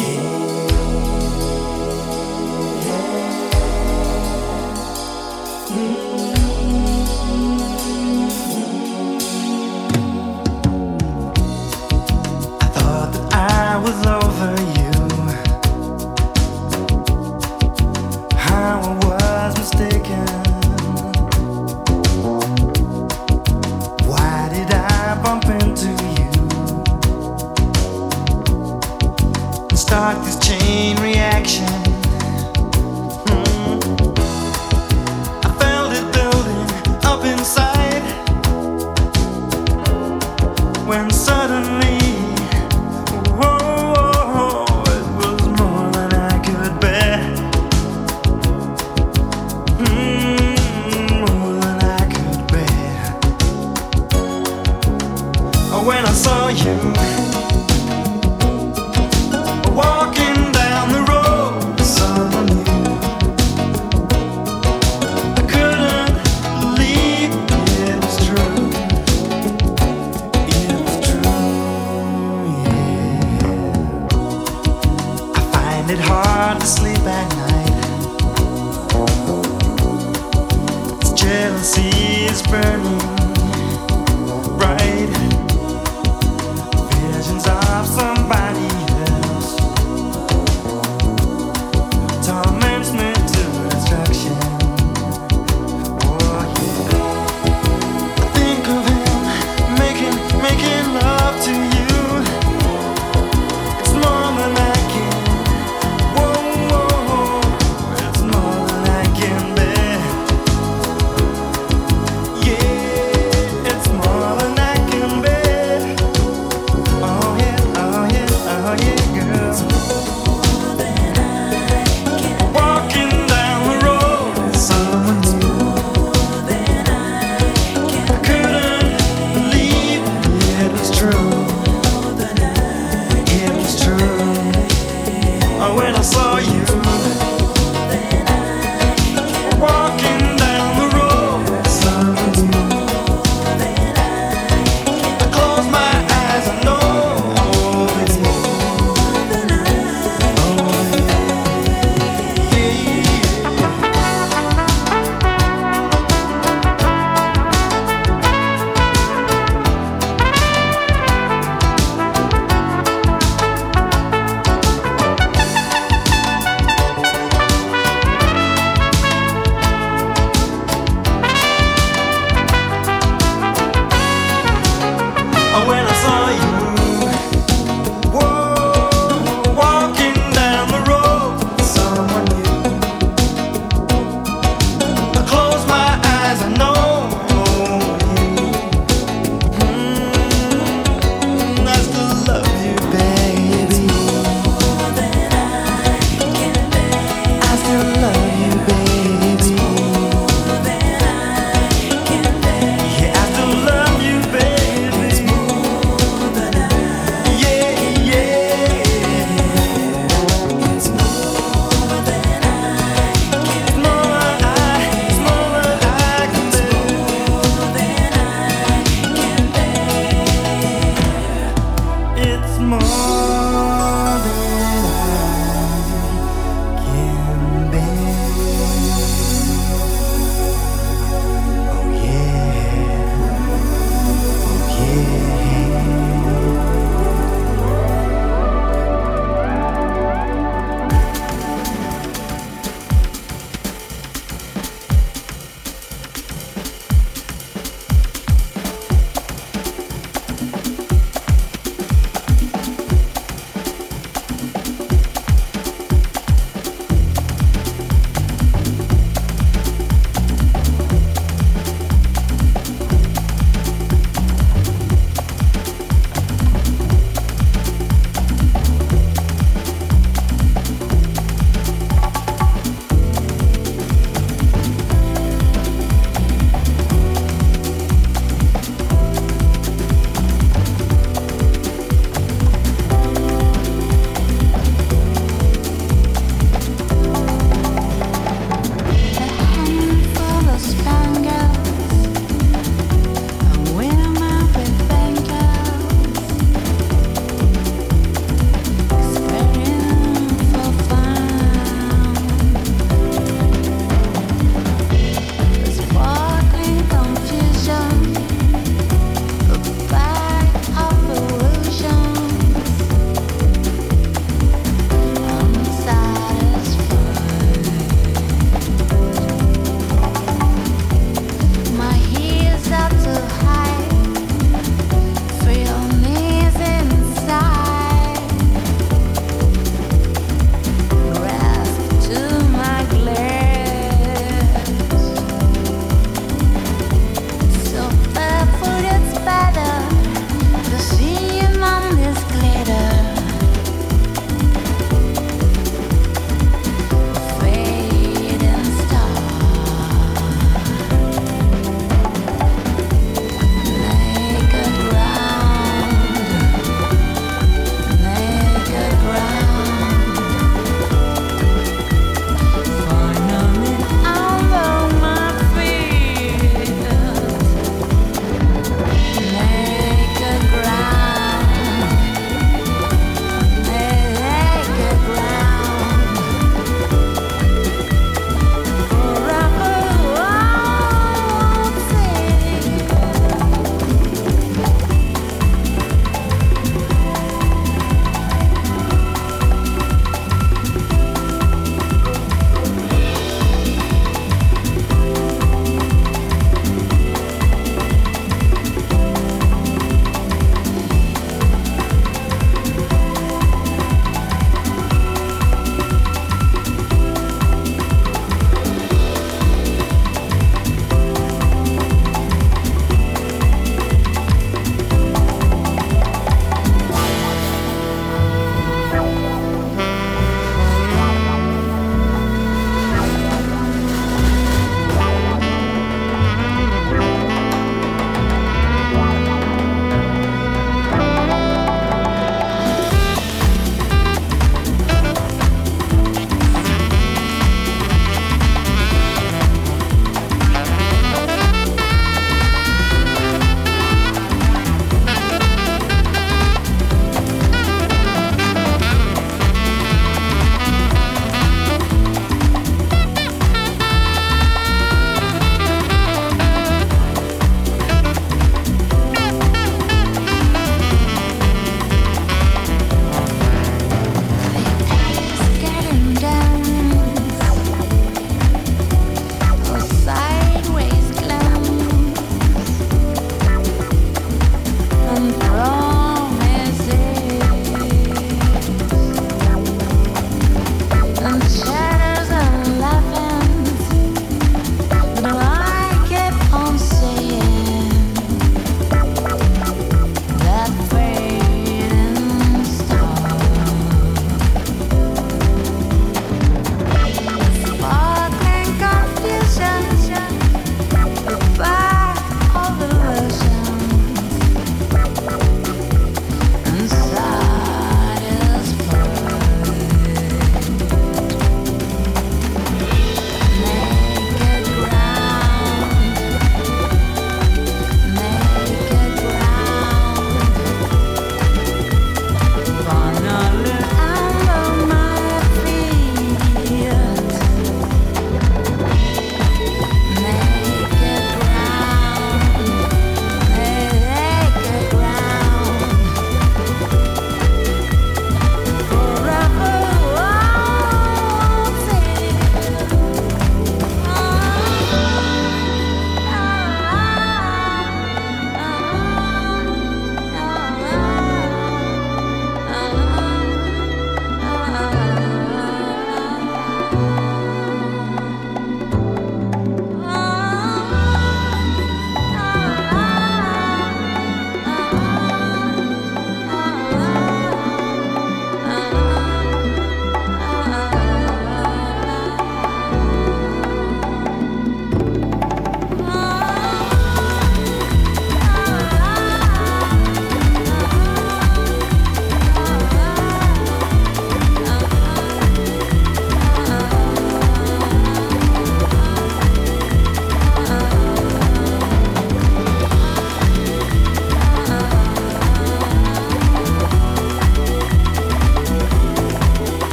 Yeah.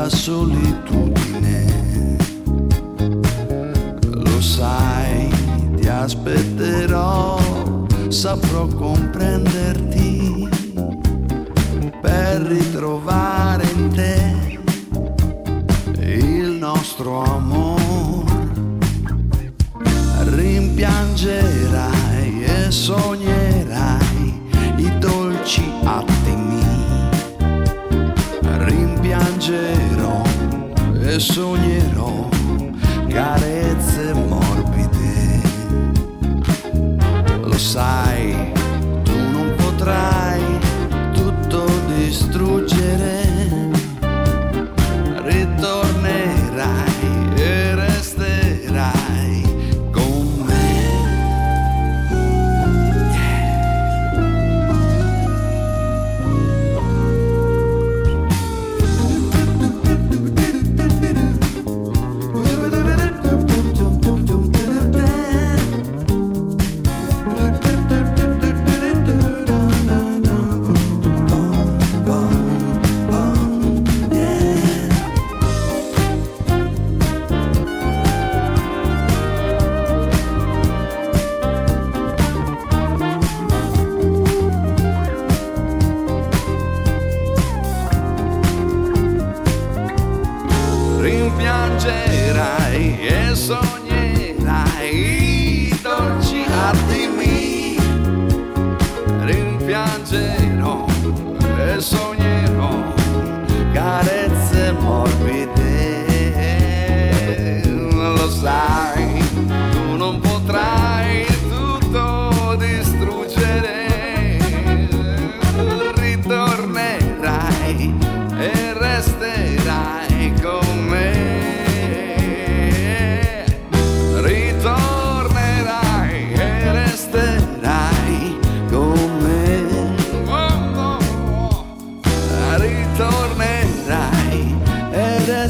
la solitudine. Lo sai, ti aspetterò, saprò comprenderti per ritrovare in te il nostro amor. Rimpiangerai e sognerai i dolci attimi. Rimpiangerò e sognerò carezze morbide. Lo sai, tu non potrai tutto distruggere. Ritornerai e resterai con me. Rimpiangerai e sognerai i dolci attimi. Rimpiangerò e sognerò carezze morbide. Lo sai, tu non potrai tutto distruggere. Ritornerai e resterai con me. Ritornerai e resterai con me. Ritornerai e resterai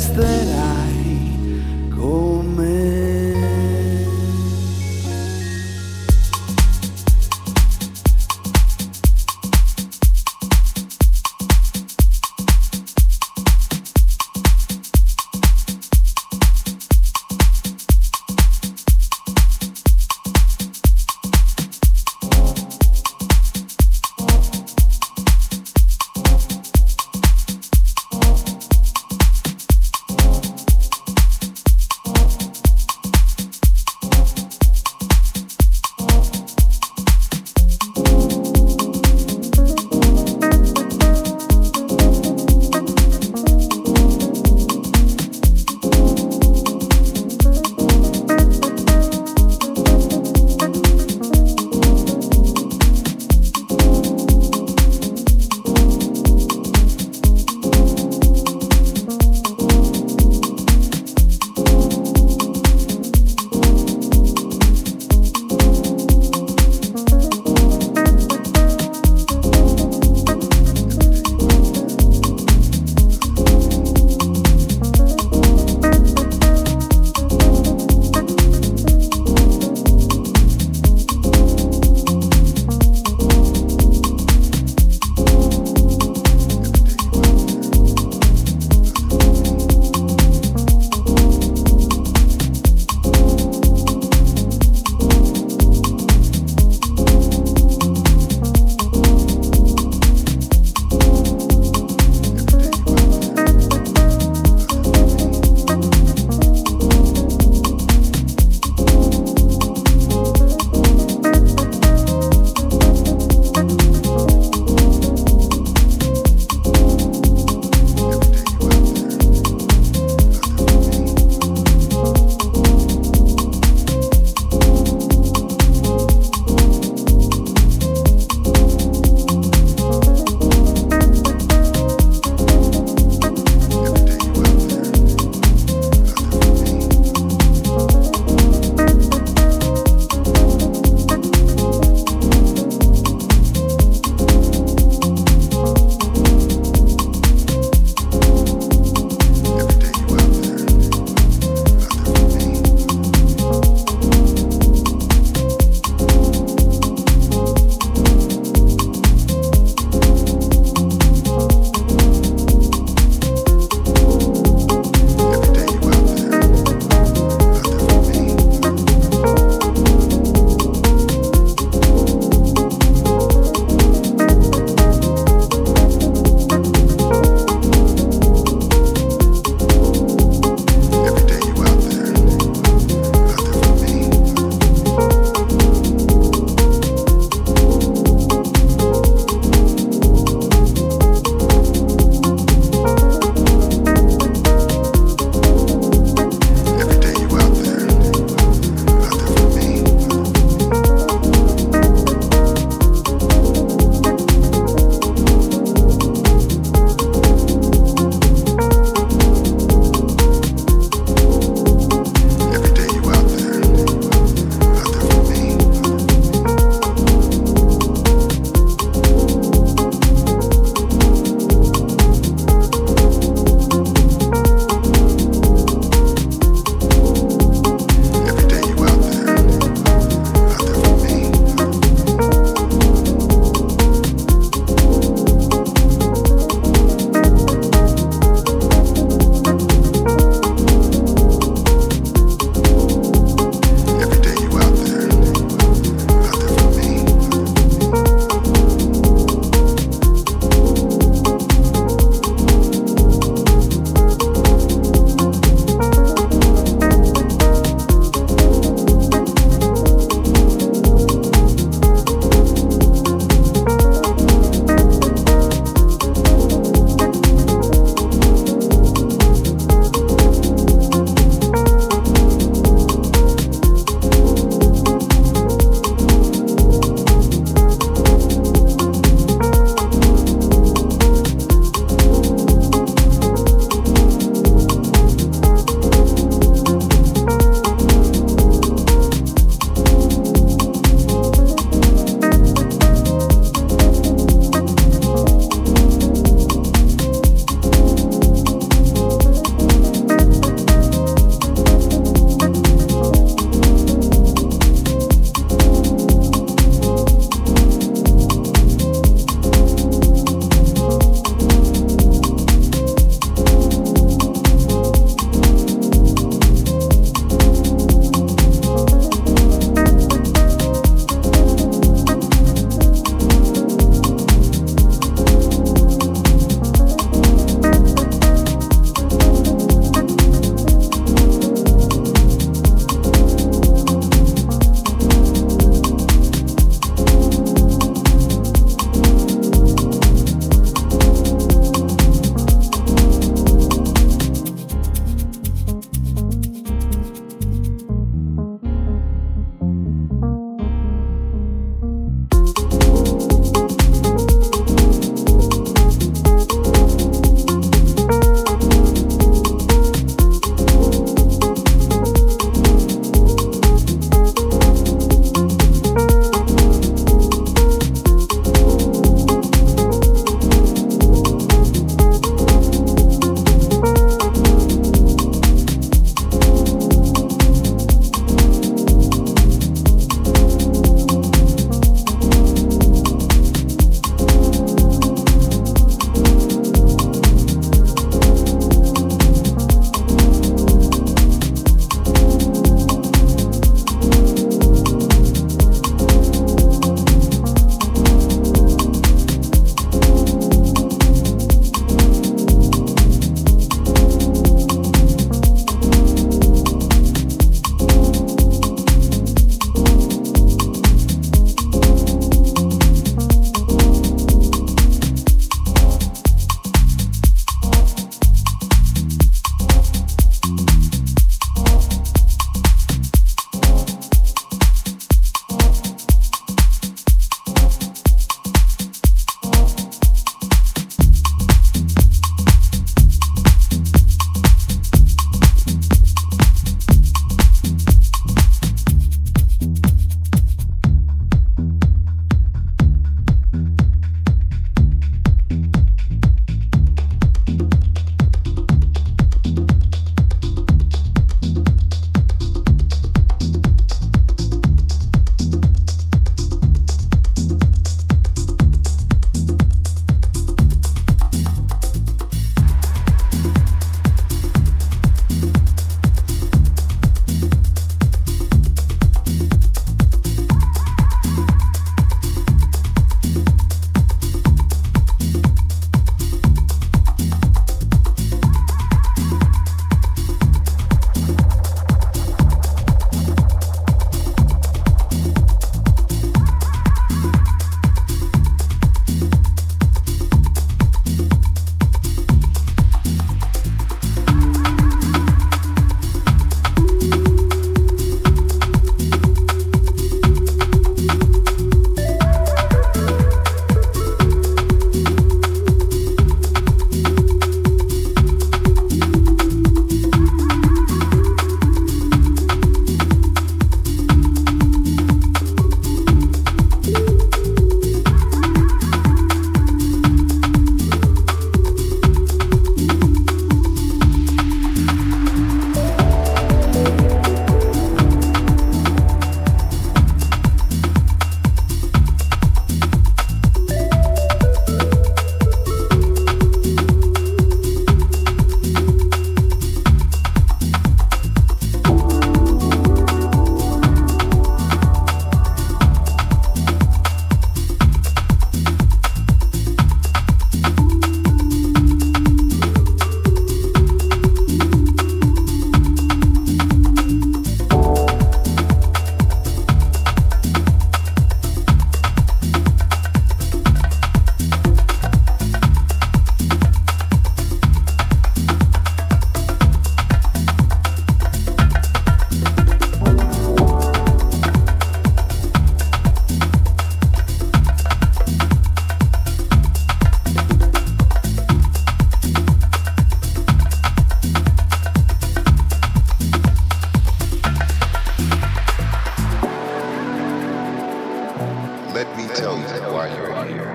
why you're here.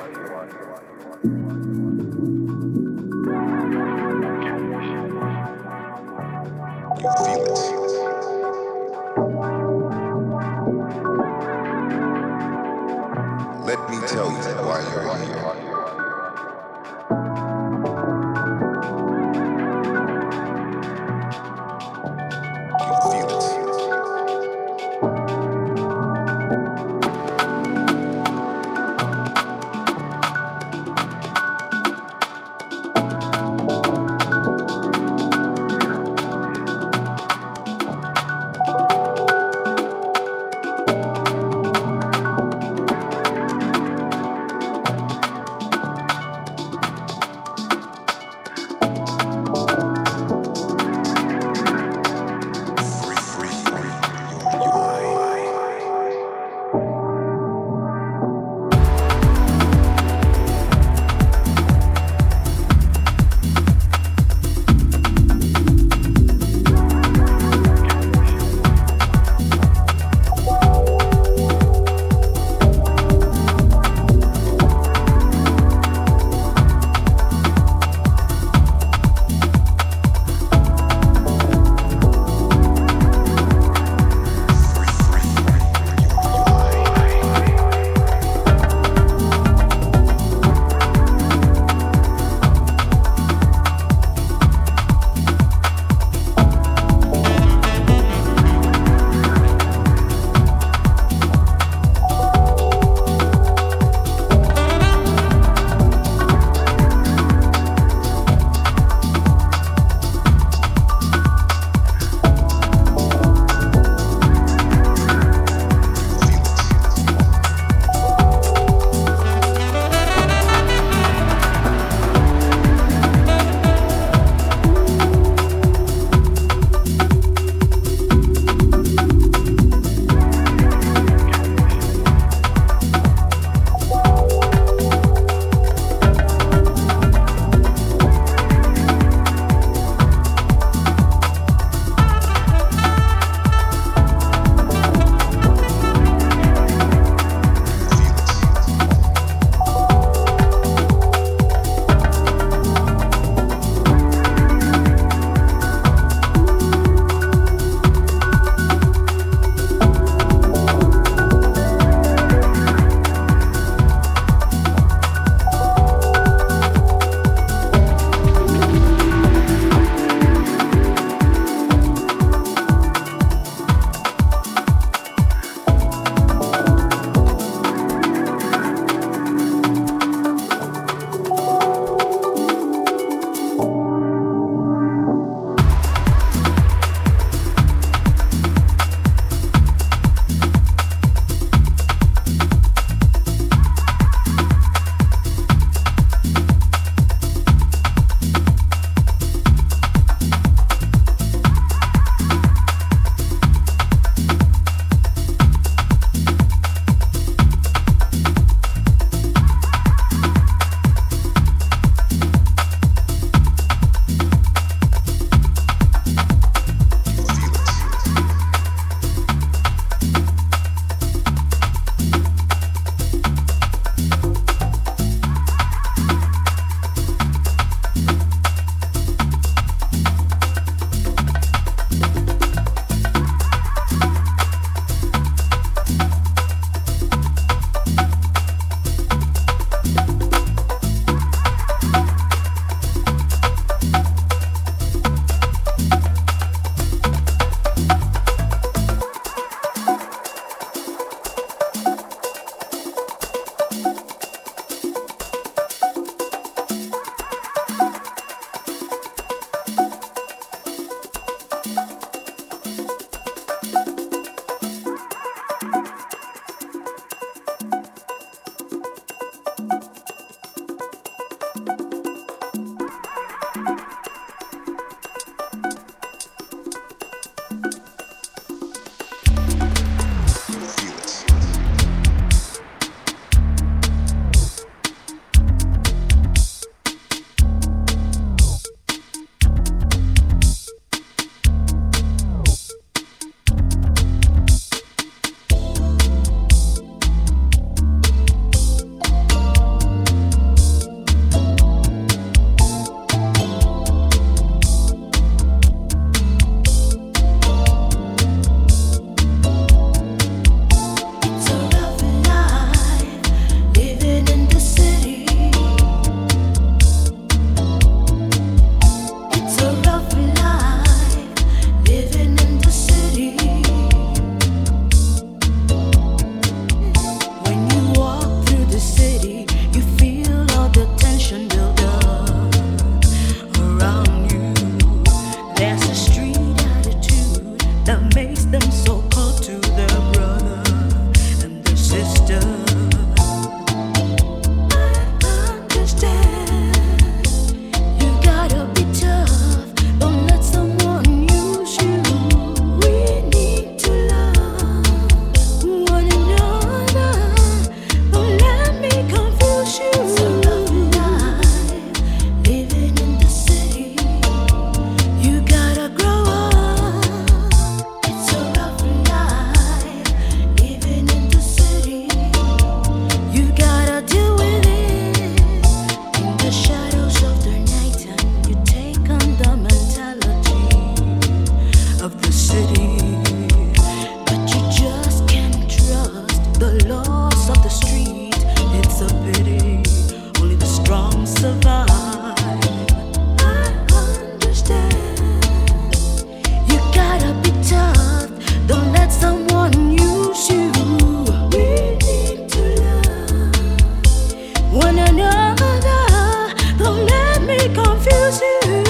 You feel it. Let me tell you why you're here. You feel it. one another. Don't let me confuse you.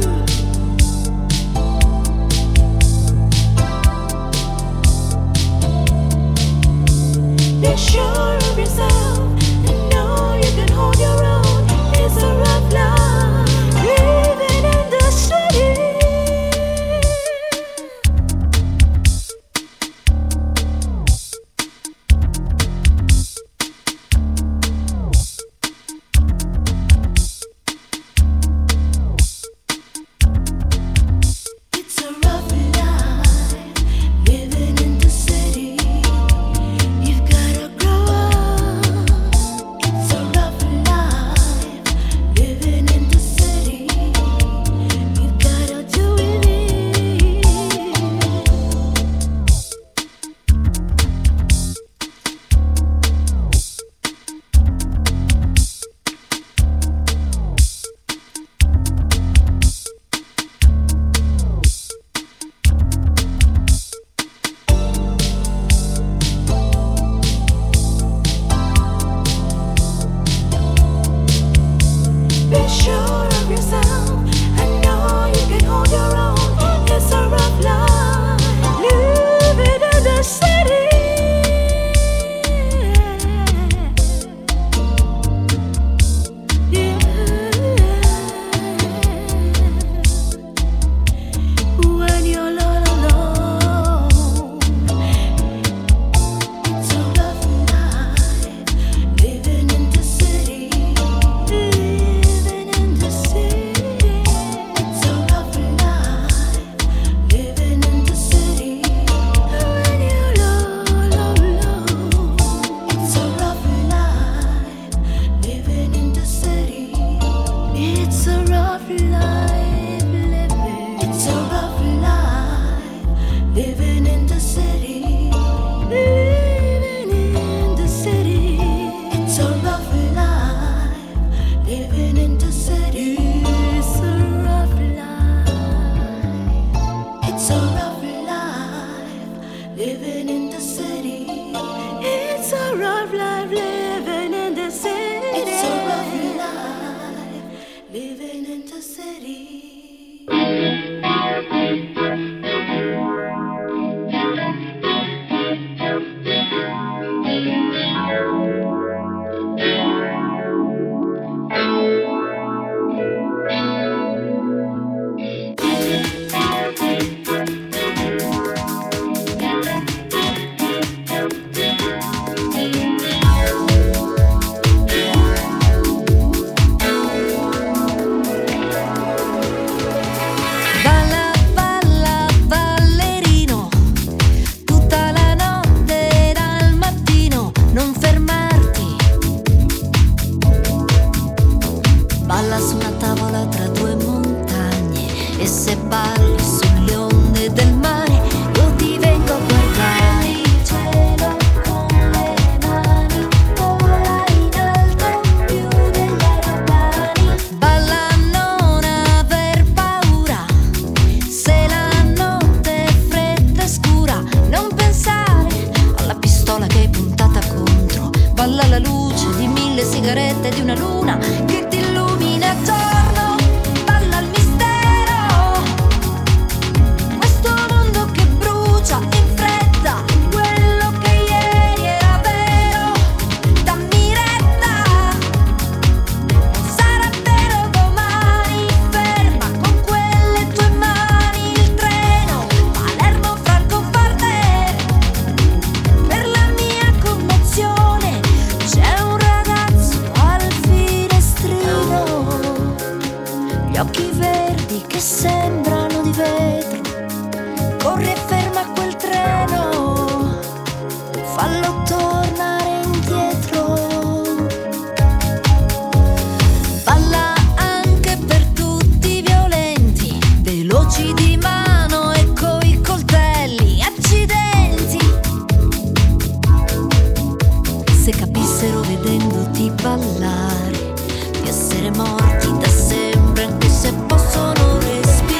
Be sure of yourself and know you can hold your own. It's a rough life living in the city. It's a rough life living in the city. You've gotta grow up. It's a rough life living in the city. You've gotta do it. Be sure of yourself and know you can hold your own. It's a rough life living in the city. Yeah. When you're all alone, it's a rough life living in the city. Living in the city. It's a rough life living in the city. When you're all alone, it's a rough life living in the city. It's a rough life living. It's a rough life living in the city. Living in the city. It's a rough life living in the city. It's a rough life. It's a rough life living in the city. It's a rough life living in the city. It's a rough life living in the city. Balla, balla, ballerino, tutta la notte dal mattino, non fermarti. Balla su una tavola tra due montagne e se balli sulle onde del mare, io ti vengo a guardare. Il cielo con le mani, vola in alto più degli aeroplani. Balla, non aver paura, se la notte è fredda e scura, non pensare alla pistola che hai puntata contro. Balla alla luce di 1000 sigarette di una luna che ti illumina attorno. Balla al mistero, questo mondo che brucia in fretta, quello che ieri era vero. Dammi retta, sarà vero domani. Ferma con quelle tue mani il treno Palermo-Francoforte. Per la mia commozione c'è un ragazzo al finestrino, gli occhi verdi che sembrano di vetro. Corri e ferma quel treno, fallo tornare indietro. Balla anche per tutti i violenti, veloci di mano e coi coltelli. Accidenti, se capissero vedendoti ballare di essere morti da sempre, anche se possono respirare.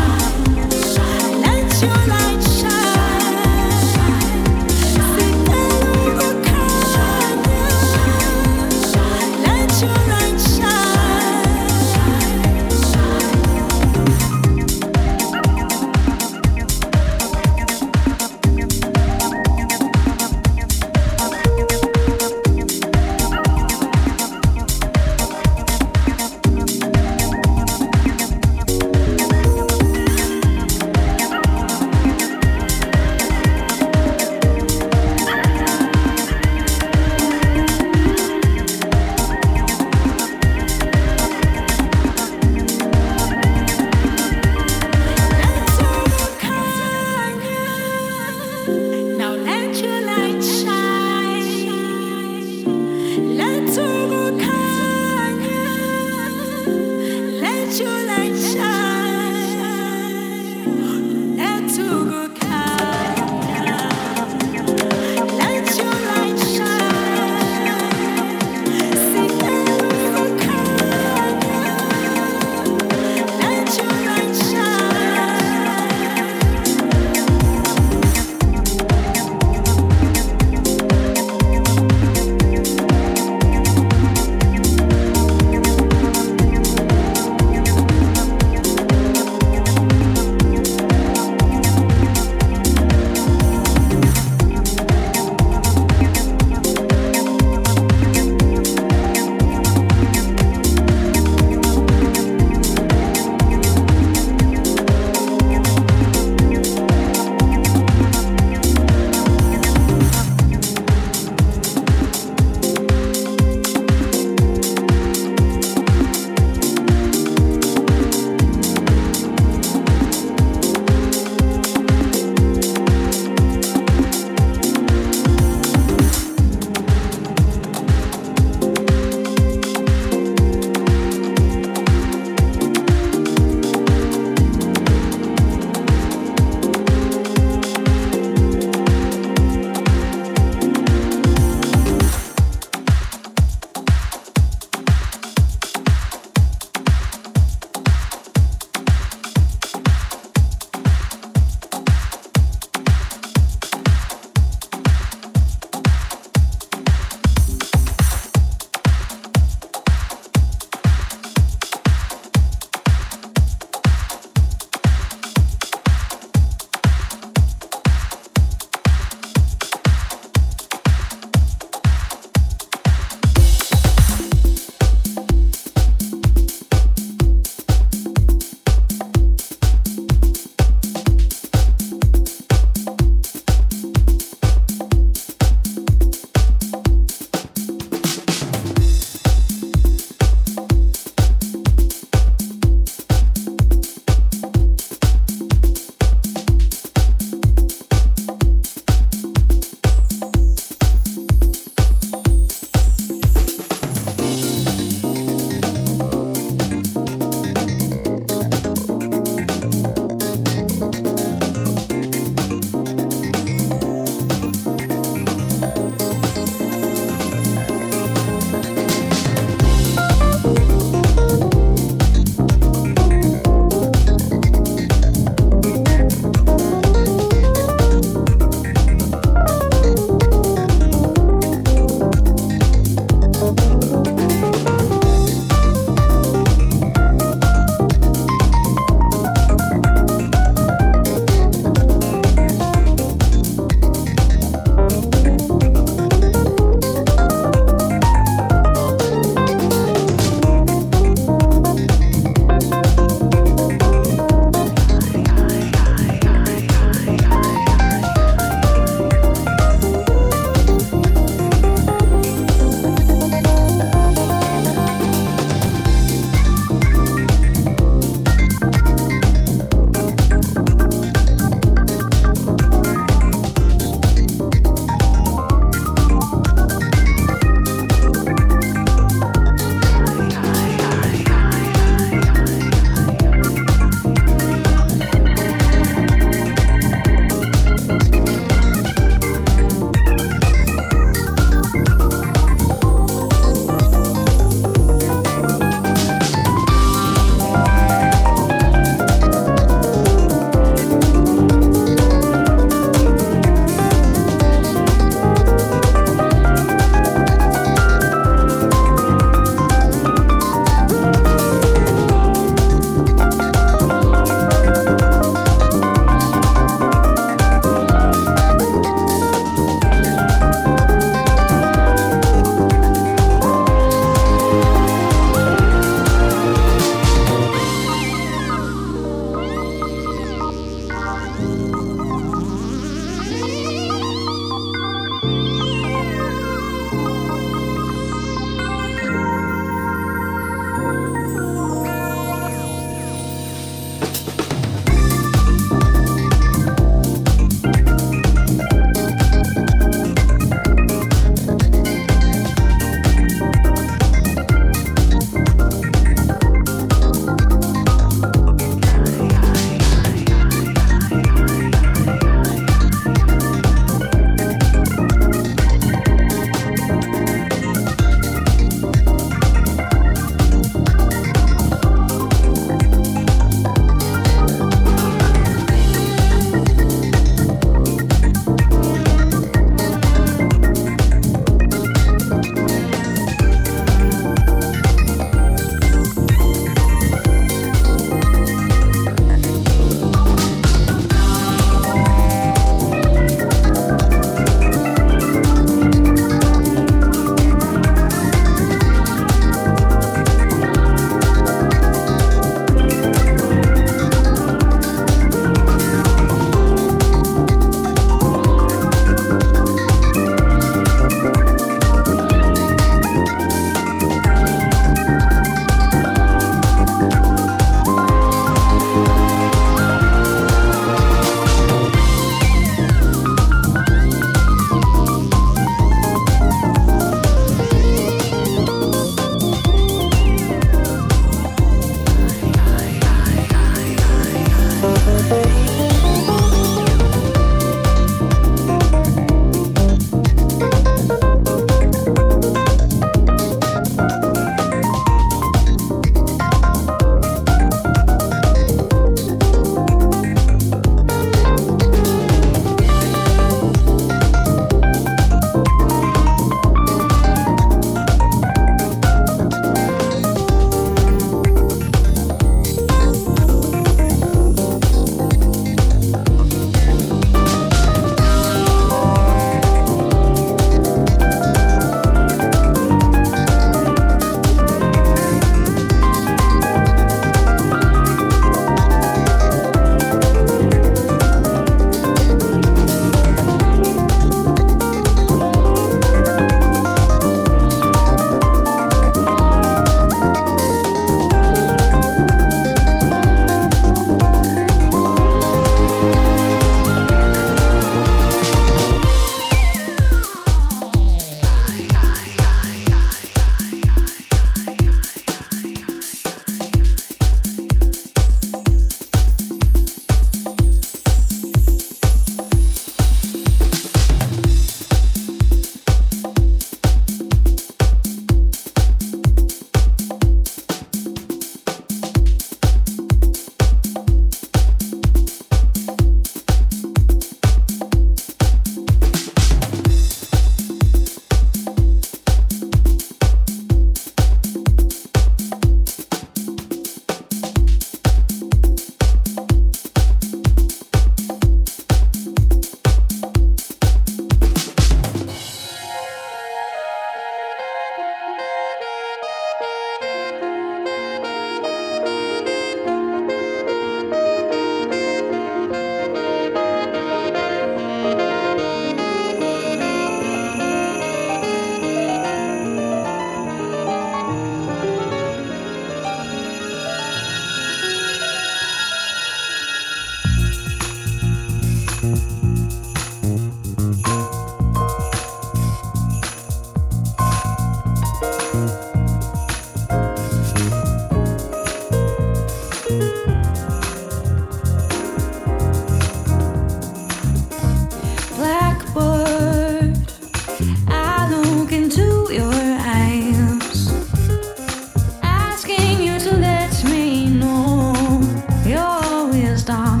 stop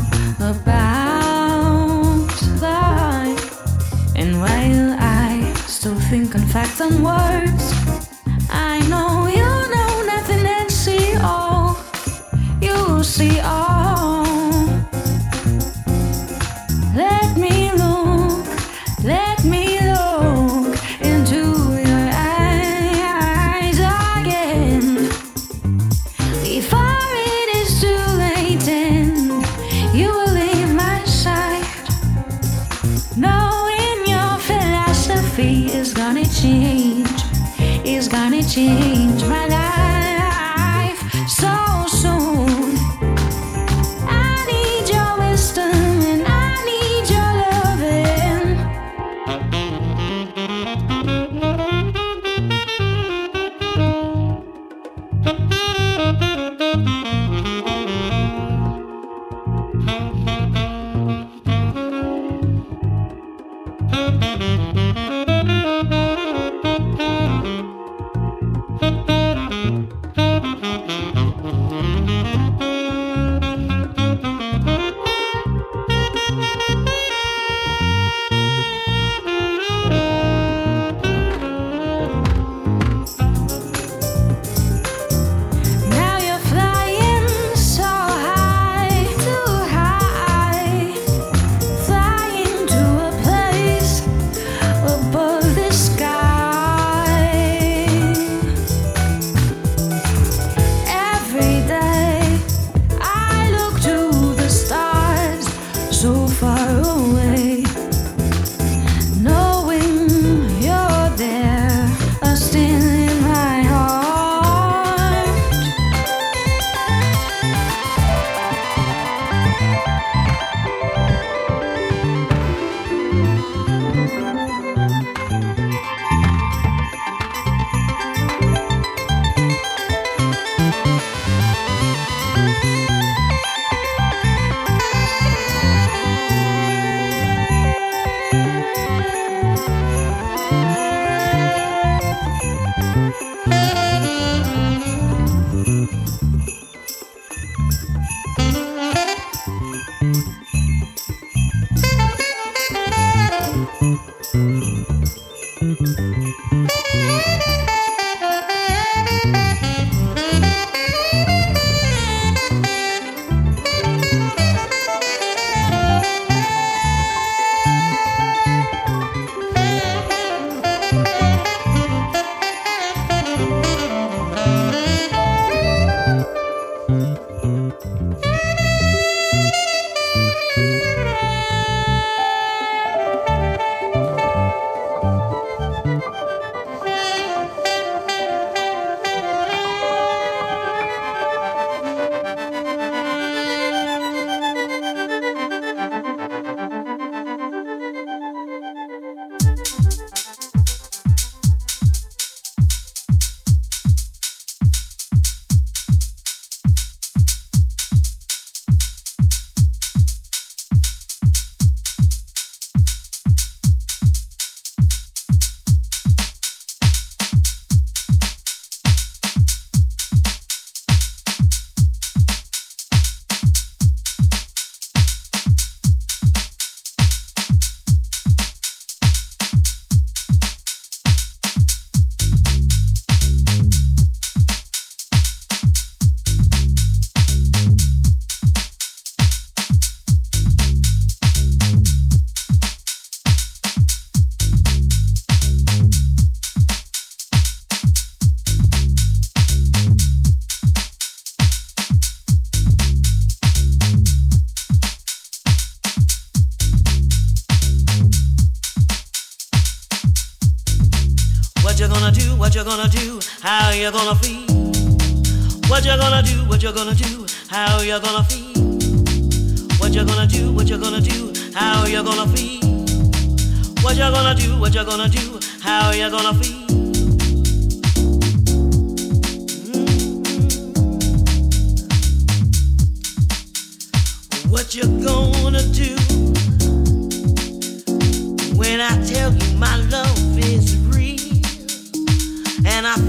about life. And while I still think on facts and words, I know you know nothing and see all. You see all. Let me look into your eyes again before it is too late and you will leave my side. Knowing your philosophy is gonna change my life so soon. I need your wisdom and I need your loving. Now you're flying so high, too high, flying to a place above the sky. Every day I look to the stars so far away, knowing you're there, still in my heart. What you gonna do? What you gonna do? How you gonna feel? What you gonna do? What you gonna do? How you gonna feel? What you gonna do? What you gonna do? How you gonna feel? What you gonna do? What you gonna do? How you gonna feel? What you gonna do when I tell you my love is real and I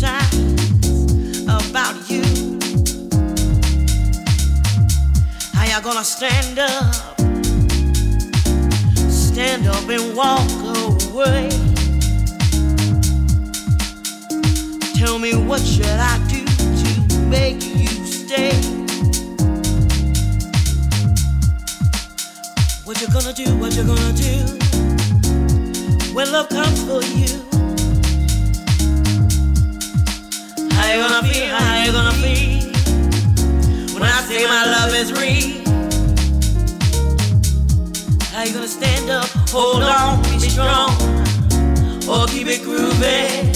fantasize about you? How you you gonna stand up? Stand up and walk away. Tell me what should I do to make you stay? What you gonna do, what you gonna do when love comes for you? How you gonna feel, how you gonna feel when I say my love is real? How you gonna stand up, hold on, be strong, or keep it grooving?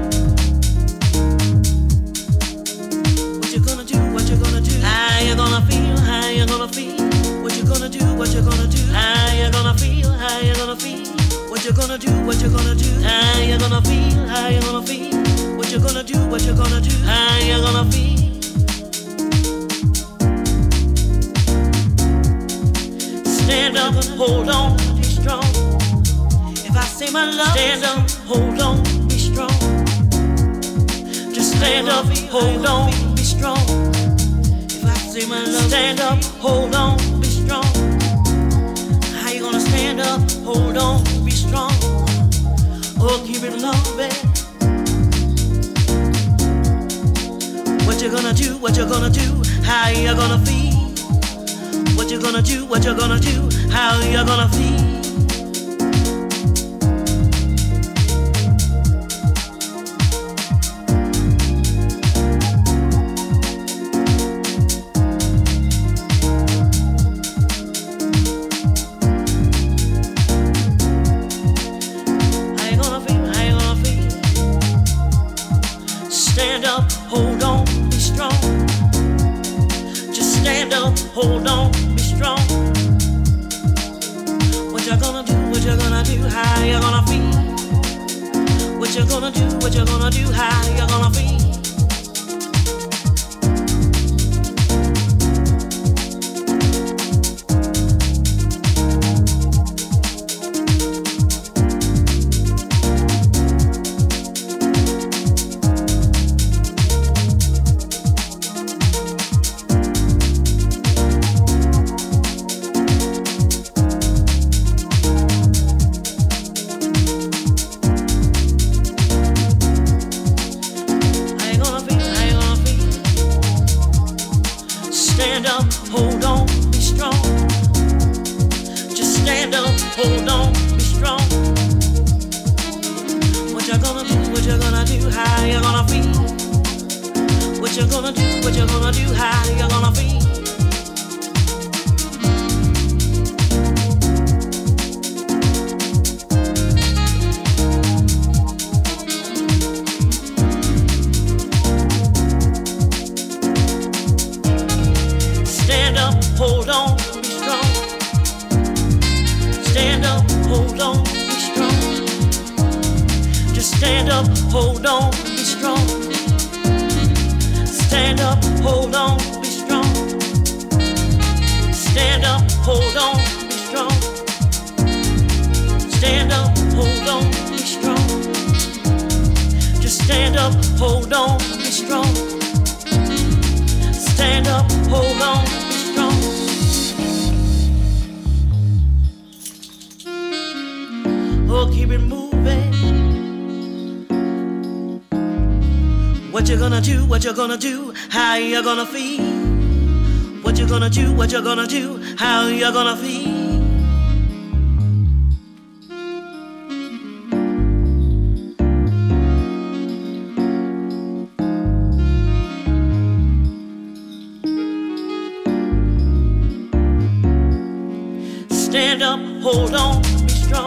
What you gonna do, what you gonna do? How you gonna feel, how you gonna feel? What you gonna do, what you gonna do? How you gonna feel, how you gonna feel? What you gonna do, what you gonna do? How you gonna feel, how you gonna feel? What you gonna do, what you gonna do? How you gonna feel? Stand up, hold on, be strong. If I say my love, stand up, hold on, be strong. Just stand up, hold on, be strong. If I say my love, stand up, hold on, be strong. How you gonna stand up, hold on, be strong, or keep it loving? What you gonna do, what you gonna do? How you gonna feel? What you gonna do, what you gonna do? How you gonna feel? How you gonna feel, how you gonna feel? Stand up, hold on, be strong. Just stand up, hold on, be strong. What you gonna do, what you gonna do? How you gonna feel? What you gonna do, what you gonna do? How you gonna feel? Stand up, hold on, be strong. Just stand up, hold on, be strong. What you gonna do, what you gonna do? How you gonna feel? What you gonna do, what you gonna do? How you gonna feel? Stand up, hold on, be strong. Stand up, hold on, be strong. Just stand up, hold on, be strong. Stand up, hold on, be strong. Stand up, hold on, be strong. Stand up, hold on, be strong. Just stand up, hold on, be strong. Stand up, hold on, be strong. Oh, keep it moving. What you gonna do, what you gonna do? How you gonna feel? What you gonna do, what you gonna do? How you gonna feel? Stand up, hold on, be strong.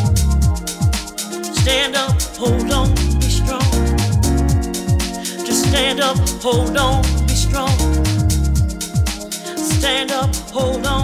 Stand up, hold on, be strong. Just stand up, hold on, be strong. Stand up, hold on.